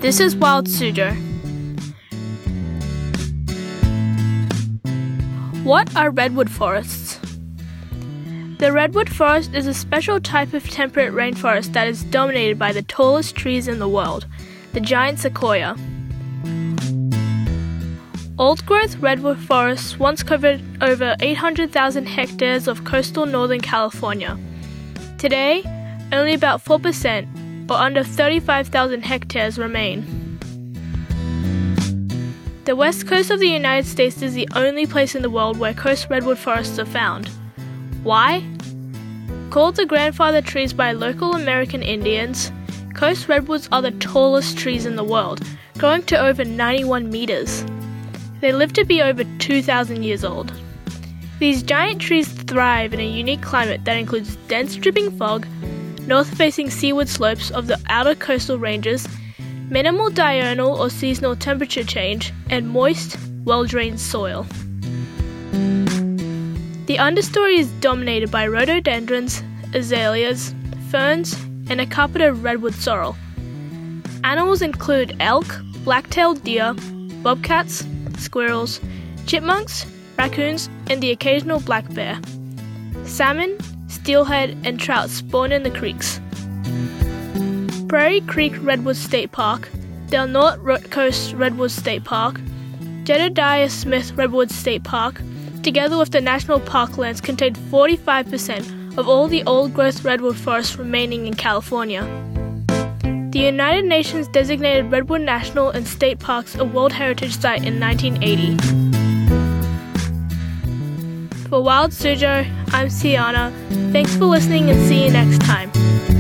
This is Wild Suzhou. What are redwood forests? The redwood forest is a special type of temperate rainforest that is dominated by the tallest trees in the world, the giant sequoia. Old-growth redwood forests once covered over 800,000 hectares of coastal northern California. Today, only about 4%, or under 35,000 hectares, remain. The west coast of the United States is the only place in the world where coast redwood forests are found. Why? Called the grandfather trees by local American Indians, coast redwoods are the tallest trees in the world, growing to over 91 meters. They live to be over 2,000 years old. These giant trees thrive in a unique climate that includes dense dripping fog, north-facing seaward slopes of the outer coastal ranges, minimal diurnal or seasonal temperature change, and moist, well-drained soil. The understory is dominated by rhododendrons, azaleas, ferns, and a carpet of redwood sorrel. Animals include elk, black-tailed deer, bobcats, squirrels, chipmunks, raccoons, and the occasional black bear. Salmon, steelhead, and trout spawn in the creeks. Prairie Creek Redwood State Park, Del Norte Coast Redwood State Park, Jedediah Smith Redwood State Park, together with the national parklands, contain 45% of all the old-growth redwood forests remaining in California. The United Nations designated Redwood National and State Parks a World Heritage Site in 1980. For Wild Suzhou, I'm Sienna. Thanks for listening and see you next time.